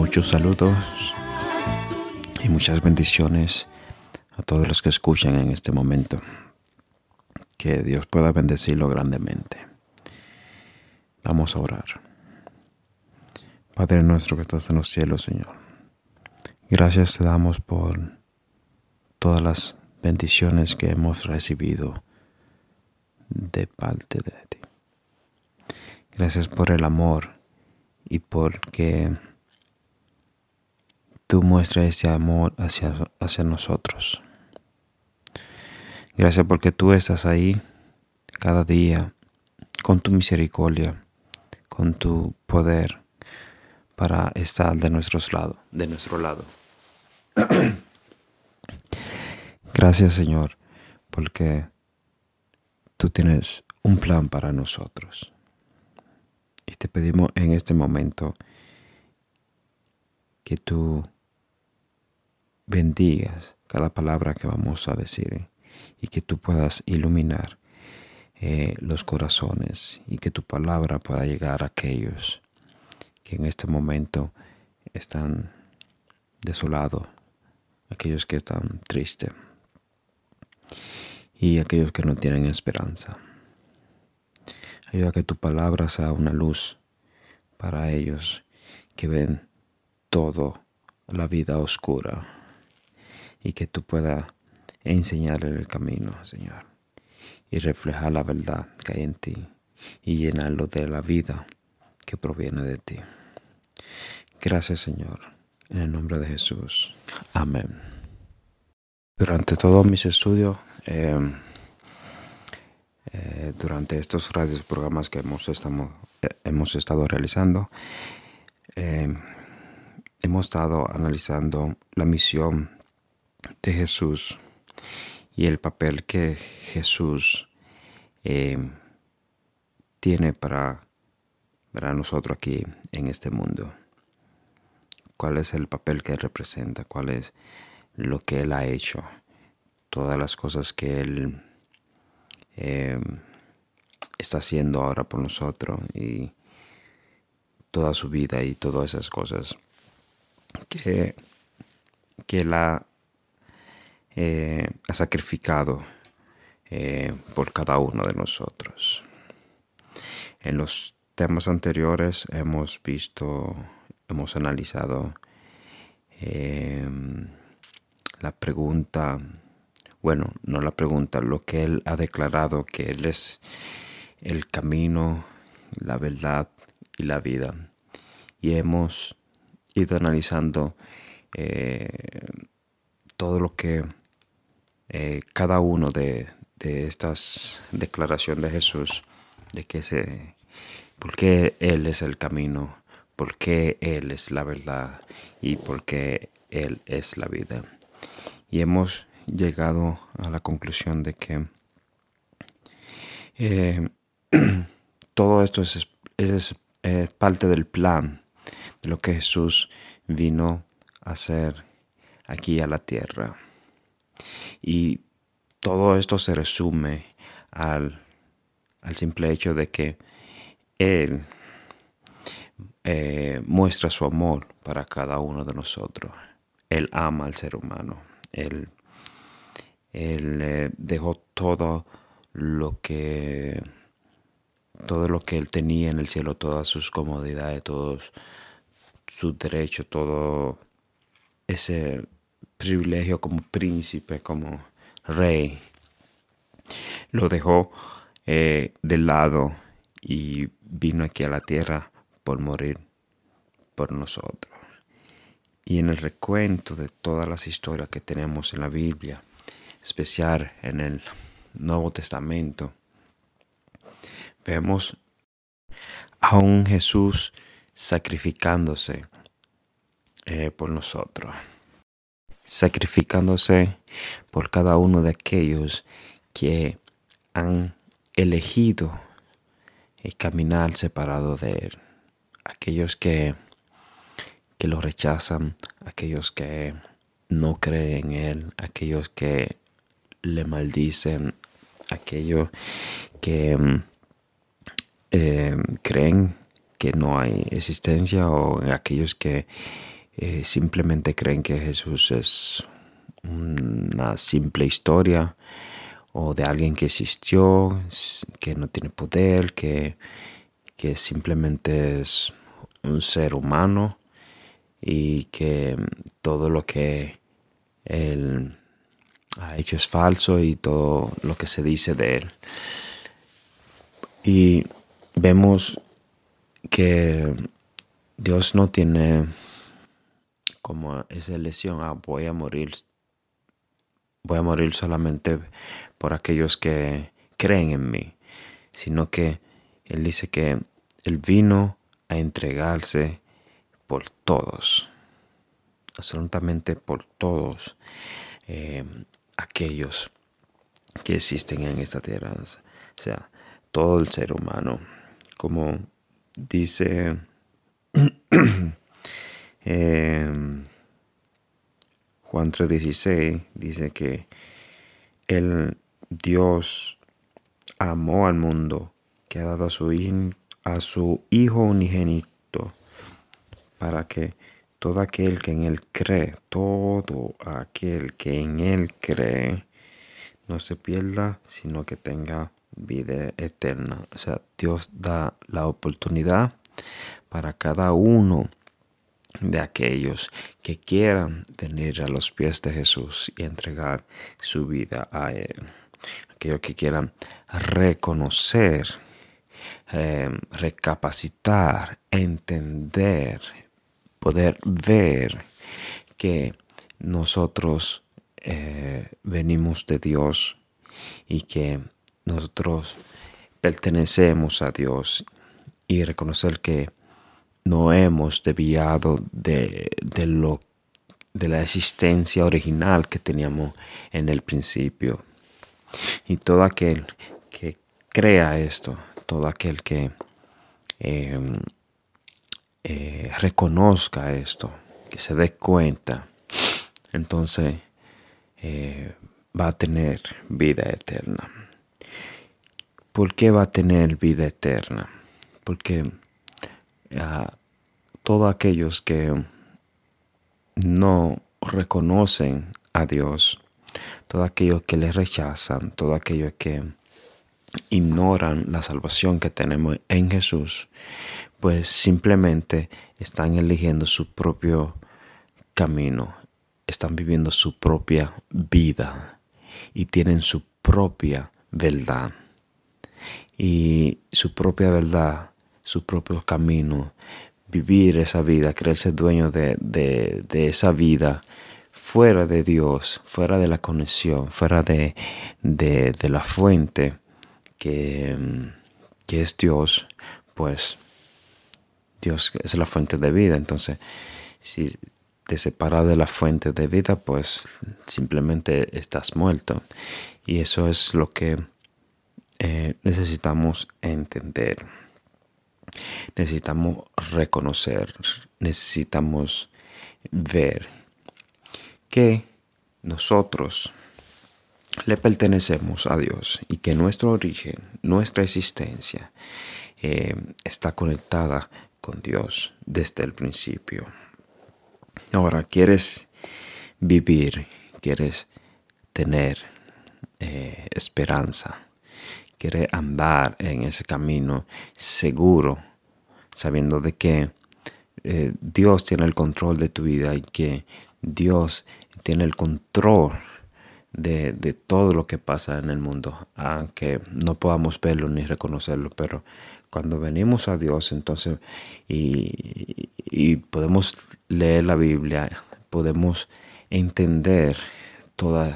Muchos saludos y muchas bendiciones a todos los que escuchan en este momento. Que Dios pueda bendecirlo grandemente. Vamos a orar. Padre nuestro que estás en los cielos, Señor. Gracias te damos por todas las bendiciones que hemos recibido de parte de ti. Gracias por el amor y porque tú muestras ese amor hacia nosotros. Gracias porque tú estás ahí cada día con tu misericordia, con tu poder para estar de nuestro lado. Gracias, Señor, porque tú tienes un plan para nosotros. Y te pedimos en este momento que tú bendigas cada palabra que vamos a decir y que tú puedas iluminar los corazones y que tu palabra pueda llegar a aquellos que en este momento están desolados, aquellos que están tristes y aquellos que no tienen esperanza. Ayuda a que tu palabra sea una luz para ellos que ven todo la vida oscura y que tú puedas enseñarles el camino, Señor, y reflejar la verdad que hay en ti y llenarlo de la vida que proviene de ti. Gracias, Señor, en el nombre de Jesús. Amén. Durante todos mis estudios, durante estos radios programas que hemos estado realizando, hemos estado analizando la misión de Jesús y el papel que Jesús tiene para nosotros aquí en este mundo. ¿Cuál es el papel que Él representa? ¿Cuál es lo que Él ha hecho? Todas las cosas que Él está haciendo ahora por nosotros y toda su vida y todas esas cosas que Él ha sacrificado por cada uno de nosotros. En los temas anteriores hemos analizado lo que Él ha declarado, que Él es el camino, la verdad y la vida. Y hemos ido analizando todo lo que cada uno de estas declaraciones de Jesús, por qué Él es el camino, por qué Él es la verdad y por qué Él es la vida. Y hemos llegado a la conclusión de que todo esto es parte del plan de lo que Jesús vino a hacer aquí a la tierra. Y todo esto se resume al simple hecho de que Él muestra su amor para cada uno de nosotros. Él ama al ser humano. Él dejó todo lo que Él tenía en el cielo, todas sus comodidades, todos sus derechos, todo ese privilegio como príncipe, como rey, lo dejó de lado y vino aquí a la tierra por morir por nosotros. Y en el recuento de todas las historias que tenemos en la Biblia, especial en el Nuevo Testamento, vemos a un Jesús sacrificándose por nosotros, sacrificándose por cada uno de aquellos que han elegido caminar separado de Él, aquellos que lo rechazan, aquellos que no creen en Él, aquellos que le maldicen, aquellos que creen que no hay existencia, o aquellos que simplemente creen que Jesús es una simple historia o de alguien que existió, que no tiene poder, que simplemente es un ser humano y que todo lo que él ha hecho es falso y todo lo que se dice de él. Y vemos que Dios no tiene como esa elección, voy a morir solamente por aquellos que creen en mí, sino que Él dice que Él vino a entregarse por todos, absolutamente por todos aquellos que existen en esta tierra, o sea, todo el ser humano, como dice Juan 3:16, dice que el Dios amó al mundo, que ha dado a su Hijo unigénito, para que todo aquel que en Él cree, no se pierda, sino que tenga vida eterna. O sea, Dios da la oportunidad para cada uno de aquellos que quieran venir a los pies de Jesús y entregar su vida a Él. Aquellos que quieran reconocer, recapacitar, entender, poder ver que nosotros venimos de Dios y que nosotros pertenecemos a Dios, y reconocer que no hemos desviado de la existencia original que teníamos en el principio. Y todo aquel que crea esto, todo aquel que reconozca esto, que se dé cuenta, entonces va a tener vida eterna. ¿Por qué va a tener vida eterna? Porque todos aquellos que no reconocen a Dios, todos aquellos que le rechazan, todos aquellos que ignoran la salvación que tenemos en Jesús, pues simplemente están eligiendo su propio camino, están viviendo su propia vida y tienen su propia verdad. Y su propia verdad, su propio camino, vivir esa vida, creerse dueño de esa vida, fuera de Dios, fuera de la conexión, fuera de la fuente que es Dios, pues Dios es la fuente de vida. Entonces, si te separas de la fuente de vida, pues simplemente estás muerto. Y eso es lo que necesitamos entender. Necesitamos reconocer, necesitamos ver que nosotros le pertenecemos a Dios y que nuestro origen, nuestra existencia está conectada con Dios desde el principio. Ahora, ¿quieres vivir? ¿Quieres tener esperanza? ¿Quieres andar en ese camino seguro, sabiendo de que Dios tiene el control de tu vida y que Dios tiene el control de todo lo que pasa en el mundo, aunque no podamos verlo ni reconocerlo? Pero cuando venimos a Dios, entonces, y podemos leer la Biblia, podemos entender todas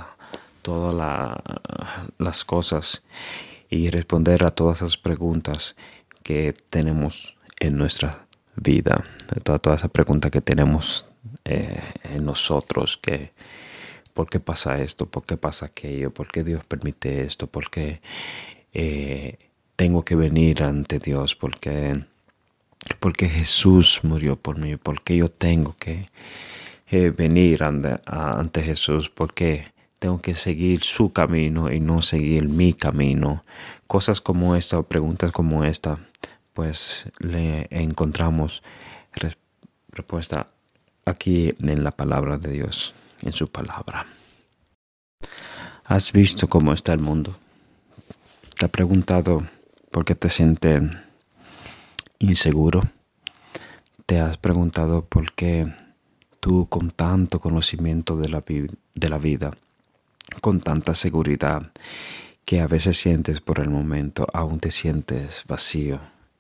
las cosas y responder a todas esas preguntas que tenemos en nuestra vida, todas esas preguntas que tenemos en nosotros, que ¿por qué pasa esto? ¿Por qué pasa aquello? ¿Por qué Dios permite esto? ¿Por qué tengo que venir ante Dios? ¿Por qué Jesús murió por mí? ¿Por qué yo tengo que venir ante Jesús? ¿Por qué tengo que seguir su camino y no seguir mi camino? Cosas como esta, o preguntas como esta, pues le encontramos respuesta aquí en la palabra de Dios, en su palabra. ¿Has visto cómo está el mundo? ¿Te has preguntado por qué te sientes inseguro? ¿Te has preguntado por qué tú, con tanto conocimiento de la vida, con tanta seguridad, que a veces sientes por el momento, aún te sientes vacío?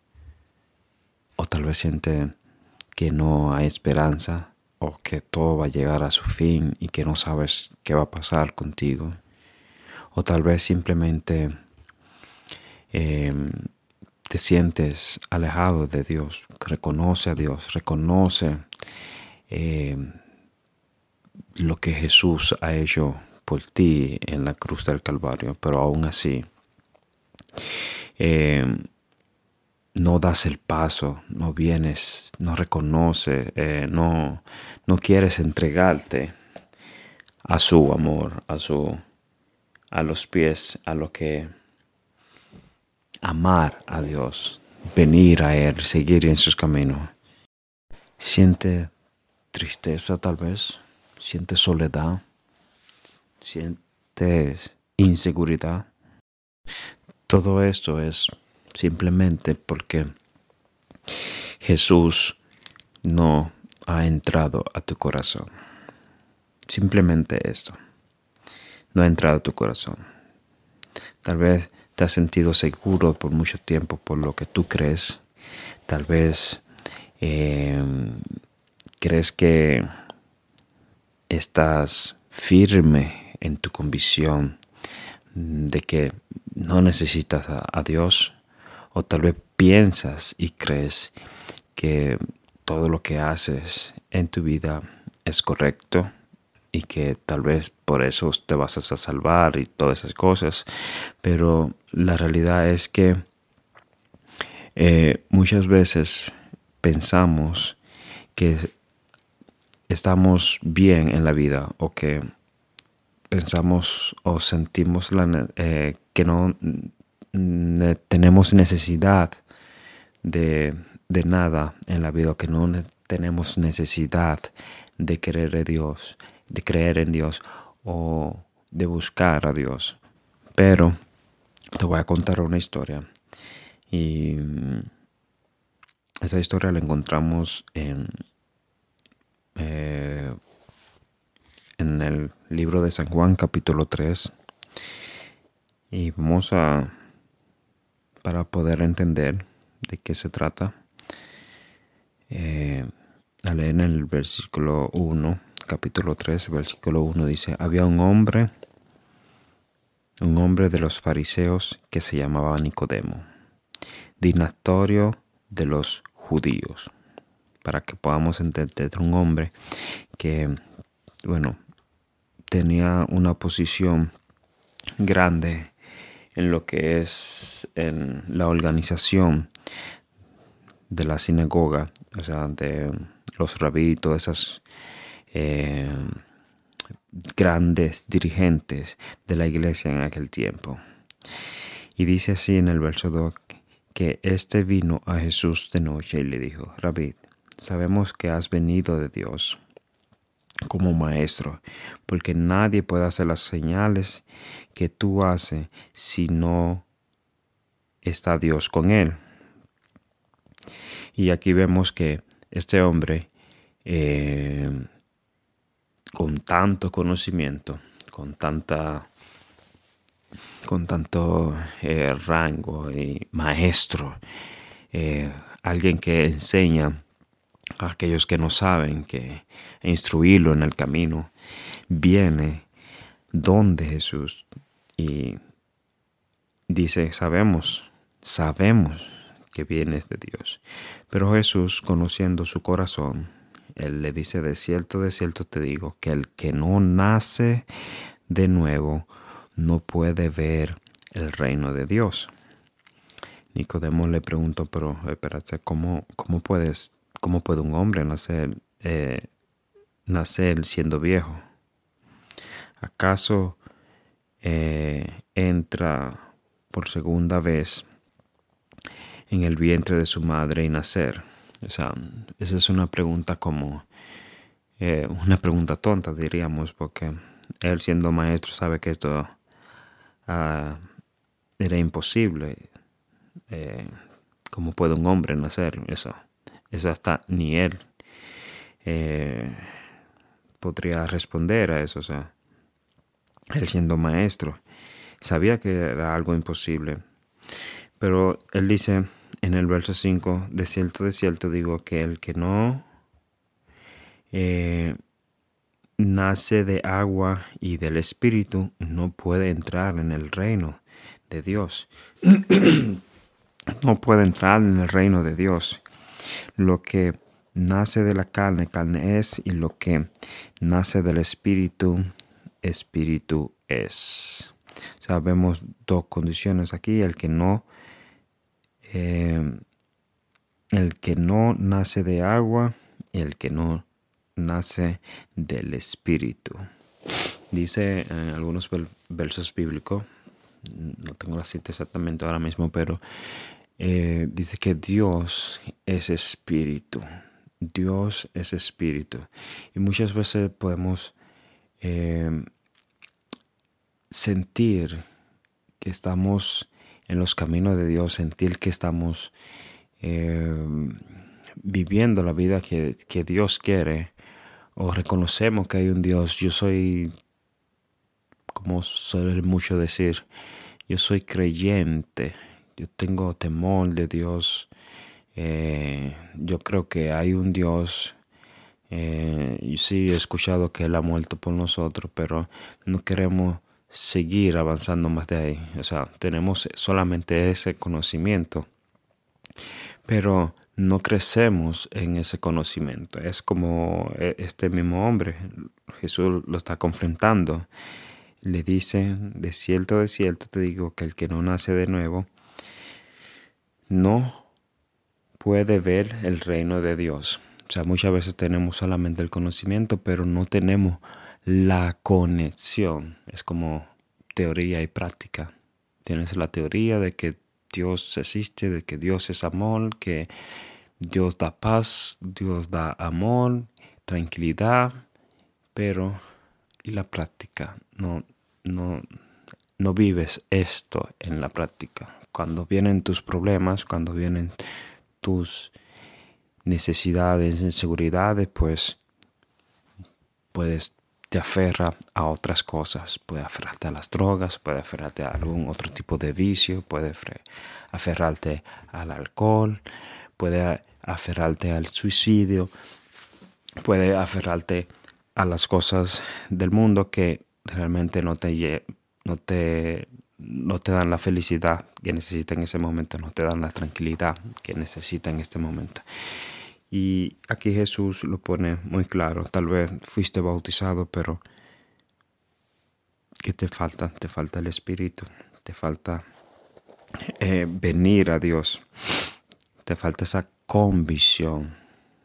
O tal vez sientes que no hay esperanza, o que todo va a llegar a su fin y que no sabes qué va a pasar contigo. O tal vez simplemente te sientes alejado de Dios. Reconoce a Dios, reconoce lo que Jesús ha hecho por ti en la cruz del Calvario, pero aún así no das el paso, no vienes, no reconoces, no quieres entregarte a su amor, a los pies, a lo que amar a Dios, venir a Él, seguir en sus caminos. Siente tristeza tal vez, siente soledad, sientes inseguridad. Todo esto es simplemente porque Jesús no ha entrado a tu corazón. Simplemente esto. No ha entrado a tu corazón. Tal vez te has sentido seguro por mucho tiempo por lo que tú crees. Tal vez crees que estás firme en tu convicción de que no necesitas a Dios, o tal vez piensas y crees que todo lo que haces en tu vida es correcto y que tal vez por eso te vas a salvar y todas esas cosas, pero la realidad es que muchas veces pensamos que estamos bien en la vida, o que pensamos o sentimos que no tenemos necesidad de nada en la vida, que no tenemos necesidad de creer en Dios o de buscar a Dios. Pero te voy a contar una historia, y esa historia la encontramos en el libro de San Juan, capítulo 3. Y para poder entender de qué se trata, a leer en el versículo 1, capítulo 3, versículo 1, dice: había un hombre de los fariseos que se llamaba Nicodemo, dignatario de los judíos. Para que podamos entender, un hombre que, tenía una posición grande en lo que es en la organización de la sinagoga, o sea, de los rabí, todas esas grandes dirigentes de la iglesia en aquel tiempo. Y dice así en el verso 2, que este vino a Jesús de noche y le dijo: Rabí, sabemos que has venido de Dios como maestro, porque nadie puede hacer las señales que tú haces si no está Dios con él. Y aquí vemos que este hombre, con tanto conocimiento, con tanto rango y maestro, alguien que enseña a aquellos que no saben, que instruirlo en el camino, viene donde Jesús y dice: sabemos que vienes de Dios. Pero Jesús, conociendo su corazón, Él le dice: de cierto te digo, que el que no nace de nuevo no puede ver el reino de Dios. Nicodemo le preguntó: pero espérate, ¿cómo puede un hombre nacer siendo viejo? ¿Acaso entra por segunda vez en el vientre de su madre y nacer? O sea, esa es una pregunta como una pregunta tonta, diríamos, porque él siendo maestro sabe que esto era imposible. ¿Cómo puede un hombre no hacer eso? Eso hasta ni él podría responder a eso. O sea, él siendo maestro sabía que era algo imposible. Pero él dice en el verso 5, de cierto digo que el que no nace de agua y del Espíritu no puede entrar en el reino de Dios. No puede entrar en el reino de Dios. Lo que nace de la carne, carne es, y lo que nace del Espíritu, Espíritu es. O sea, vemos dos condiciones aquí. El que no nace de agua y el que no nace del Espíritu. Dice en algunos versos bíblicos, no tengo la cita exactamente ahora mismo, pero dice que Dios es espíritu. Dios es espíritu. Y muchas veces podemos sentir que estamos en los caminos de Dios, sentir que estamos viviendo la vida que Dios quiere, o reconocemos que hay un Dios. Yo soy, como suele mucho decir, yo soy creyente, yo tengo temor de Dios, yo creo que hay un Dios. Y sí, he escuchado que Él ha muerto por nosotros, pero no queremos seguir avanzando más de ahí. O sea, tenemos solamente ese conocimiento, pero no crecemos en ese conocimiento. Es como este mismo hombre, Jesús lo está confrontando. Le dice, de cierto te digo que el que no nace de nuevo no puede ver el reino de Dios. O sea, muchas veces tenemos solamente el conocimiento, pero no tenemos la conexión. Es como teoría y práctica. Tienes la teoría de que Dios existe, de que Dios es amor, que Dios da paz, Dios da amor, tranquilidad, pero ¿y la práctica? No vives esto en la práctica. Cuando vienen tus problemas, cuando vienen tus necesidades, inseguridades, pues te aferra a otras cosas. Puede aferrarte a las drogas, puede aferrarte a algún otro tipo de vicio, puede aferrarte al alcohol, puede aferrarte al suicidio, puede aferrarte a las cosas del mundo que realmente no te dan la felicidad que necesitas en ese momento, no te dan la tranquilidad que necesitas en este momento. Y aquí Jesús lo pone muy claro. Tal vez fuiste bautizado, pero ¿qué te falta? Te falta el Espíritu, te falta venir a Dios, te falta esa convicción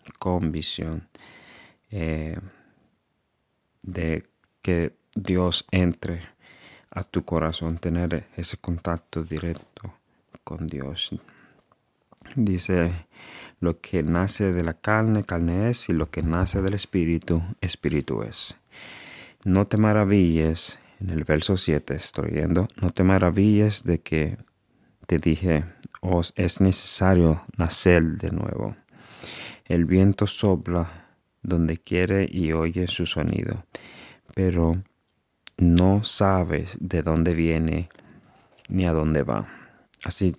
de que Dios entre a tu corazón, tener ese contacto directo con Dios. Dice, lo que nace de la carne, carne es, y lo que nace del Espíritu, Espíritu es. No te maravilles, en el verso 7 estoy yendo, no te maravilles de que te dije, os es necesario nacer de nuevo. El viento sopla donde quiere y oye su sonido, pero no sabes de dónde viene ni a dónde va. Así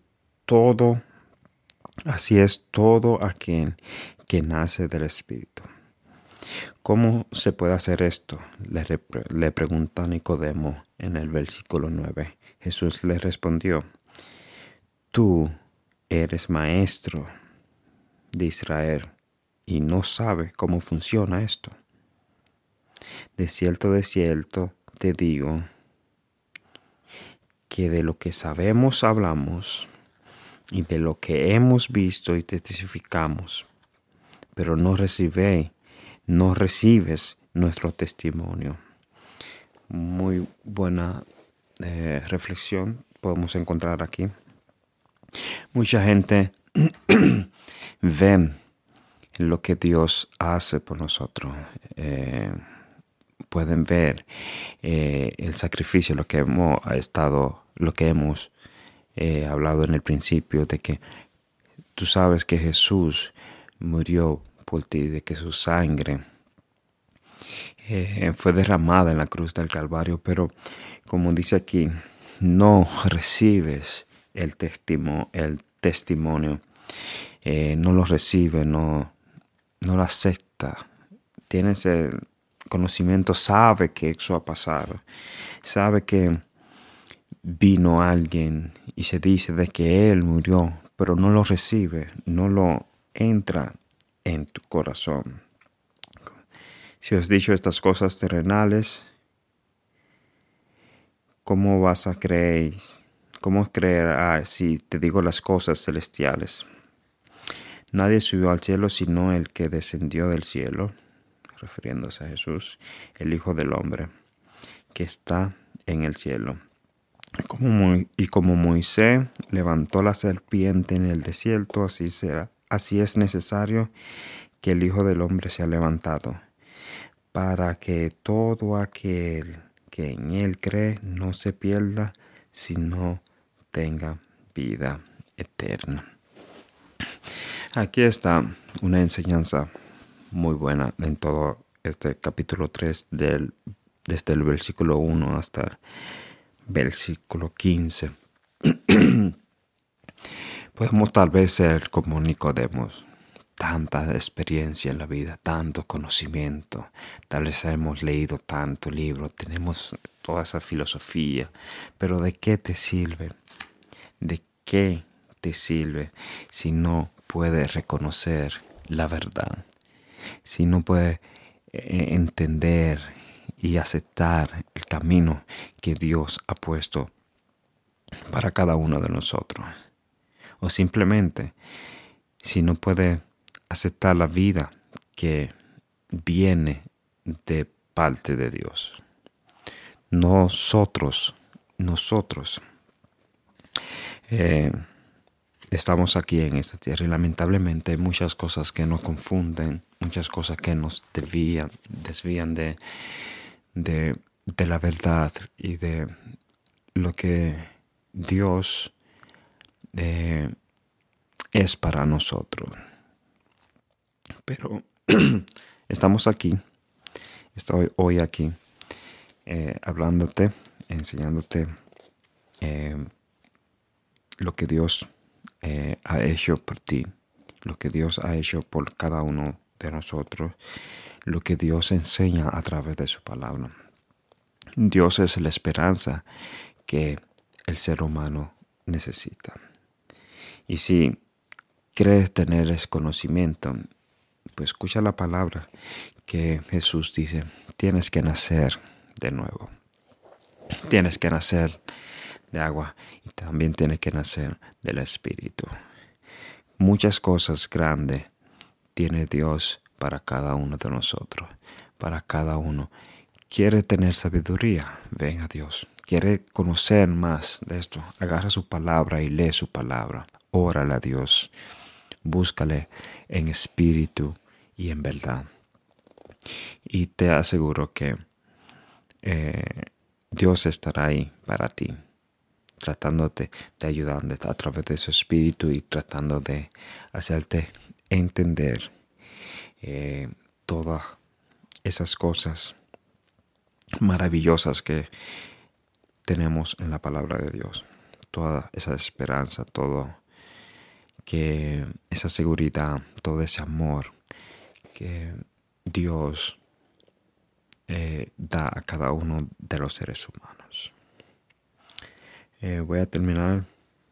es todo aquel que nace del Espíritu. ¿Cómo se puede hacer esto? Le pregunta Nicodemo en el versículo 9. Jesús le respondió, tú eres maestro de Israel y no sabes cómo funciona esto. De cierto te digo que de lo que sabemos hablamos y de lo que hemos visto y testificamos, pero no recibes nuestro testimonio. Muy buena reflexión podemos encontrar aquí. Mucha gente ve lo que Dios hace por nosotros. Pueden ver el sacrificio, lo que hemos hablado en el principio, de que tú sabes que Jesús murió por ti, de que su sangre fue derramada en la cruz del Calvario, pero como dice aquí, no recibes el testimonio, no lo recibes, no lo acepta. Tienes el conocimiento, sabe que eso ha pasado, sabe que vino alguien y se dice de que Él murió, pero no lo recibe, no lo entra en tu corazón. Si os he dicho estas cosas terrenales, ¿cómo vas a creer? ¿Cómo creerás si te digo las cosas celestiales? Nadie subió al cielo sino el que descendió del cielo, refiriéndose a Jesús, el Hijo del Hombre, que está en el cielo. Y como Moisés levantó la serpiente en el desierto, así es necesario que el Hijo del Hombre sea levantado, para que todo aquel que en él cree no se pierda, sino tenga vida eterna. Aquí está una enseñanza muy buena en todo este capítulo 3 desde el versículo 1 hasta el versículo 15. Podemos tal vez ser como Nicodemo, tanta experiencia en la vida, tanto conocimiento, tal vez hemos leído tanto libro, tenemos toda esa filosofía, pero ¿de qué te sirve? ¿De qué te sirve si no puedes reconocer la verdad? Si no puedes entender y aceptar el camino que Dios ha puesto para cada uno de nosotros. O simplemente, si no puedes aceptar la vida que viene de parte de Dios. Nosotros estamos aquí en esta tierra y lamentablemente hay muchas cosas que nos confunden, muchas cosas que nos desvían de la verdad y de lo que Dios es para nosotros. Pero estamos aquí, estoy hoy aquí hablándote, enseñándote lo que Dios ha hecho por ti, lo que Dios ha hecho por cada uno de nosotros, lo que Dios enseña a través de su palabra. Dios es la esperanza que el ser humano necesita. Y si crees tener ese conocimiento, pues escucha la palabra que Jesús dice, tienes que nacer de nuevo. Tienes que nacer de agua y también tienes que nacer del Espíritu. Muchas cosas grandes tiene Dios para cada uno de nosotros, para cada uno. Quiere tener sabiduría, ven a Dios. Quiere conocer más de esto, agarra su palabra y lee su palabra. Órale a Dios, búscale en espíritu y en verdad. Y te aseguro que Dios estará ahí para ti, tratándote de ayudarte a través de su espíritu y tratando de hacerte entender todas esas cosas maravillosas que tenemos en la palabra de Dios. Toda esa esperanza, todo que esa seguridad, todo ese amor que Dios da a cada uno de los seres humanos. Voy a terminar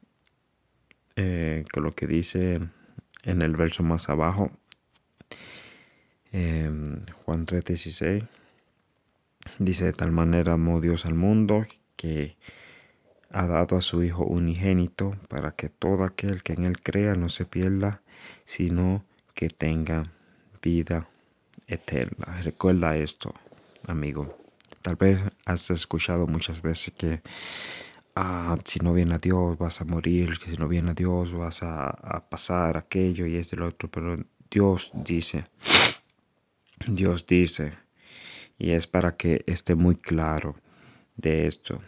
con lo que dice en el verso más abajo, Juan 3:16. Dice, de tal manera amó Dios al mundo que ha dado a su Hijo unigénito para que todo aquel que en él crea no se pierda, sino que tenga vida eterna. Recuerda esto, amigo. Tal vez has escuchado muchas veces que si no viene a Dios vas a morir, que si no viene a Dios vas a pasar aquello y esto y lo otro, pero Dios dice, y es para que esté muy claro de esto.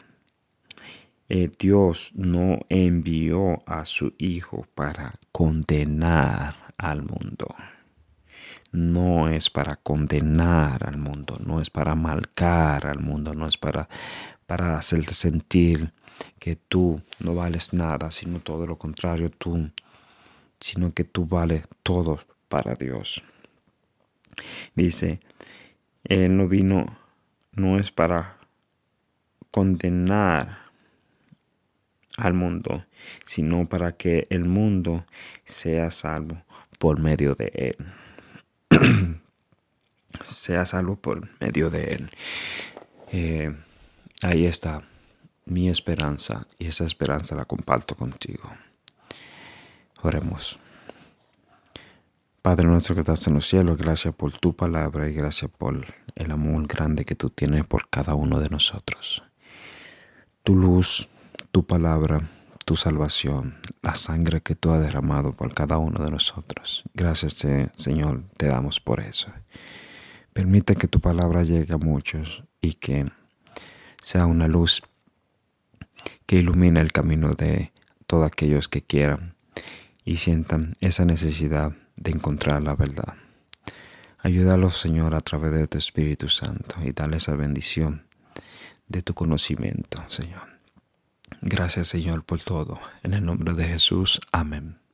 Dios no envió a su Hijo para condenar al mundo. No es para condenar al mundo, no es para marcar al mundo, no es para hacerte sentir que tú no vales nada, sino todo lo contrario, sino que tú vales todo para Dios. Dice, Él no vino, no es para condenar al mundo, sino para que el mundo sea salvo por medio de Él. Sea salvo por medio de Él. Ahí está mi esperanza, y esa esperanza la comparto contigo. Oremos. Padre nuestro que estás en los cielos, gracias por tu palabra y gracias por el amor grande que tú tienes por cada uno de nosotros. Tu luz, tu palabra, tu salvación, la sangre que tú has derramado por cada uno de nosotros. Gracias, Señor, te damos por eso. Permite que tu palabra llegue a muchos y que sea una luz que ilumine el camino de todos aquellos que quieran y sientan esa necesidad de encontrar la verdad. Ayúdalos, Señor, a través de tu Espíritu Santo y dale esa bendición de tu conocimiento, Señor. Gracias, Señor, por todo. En el nombre de Jesús. Amén.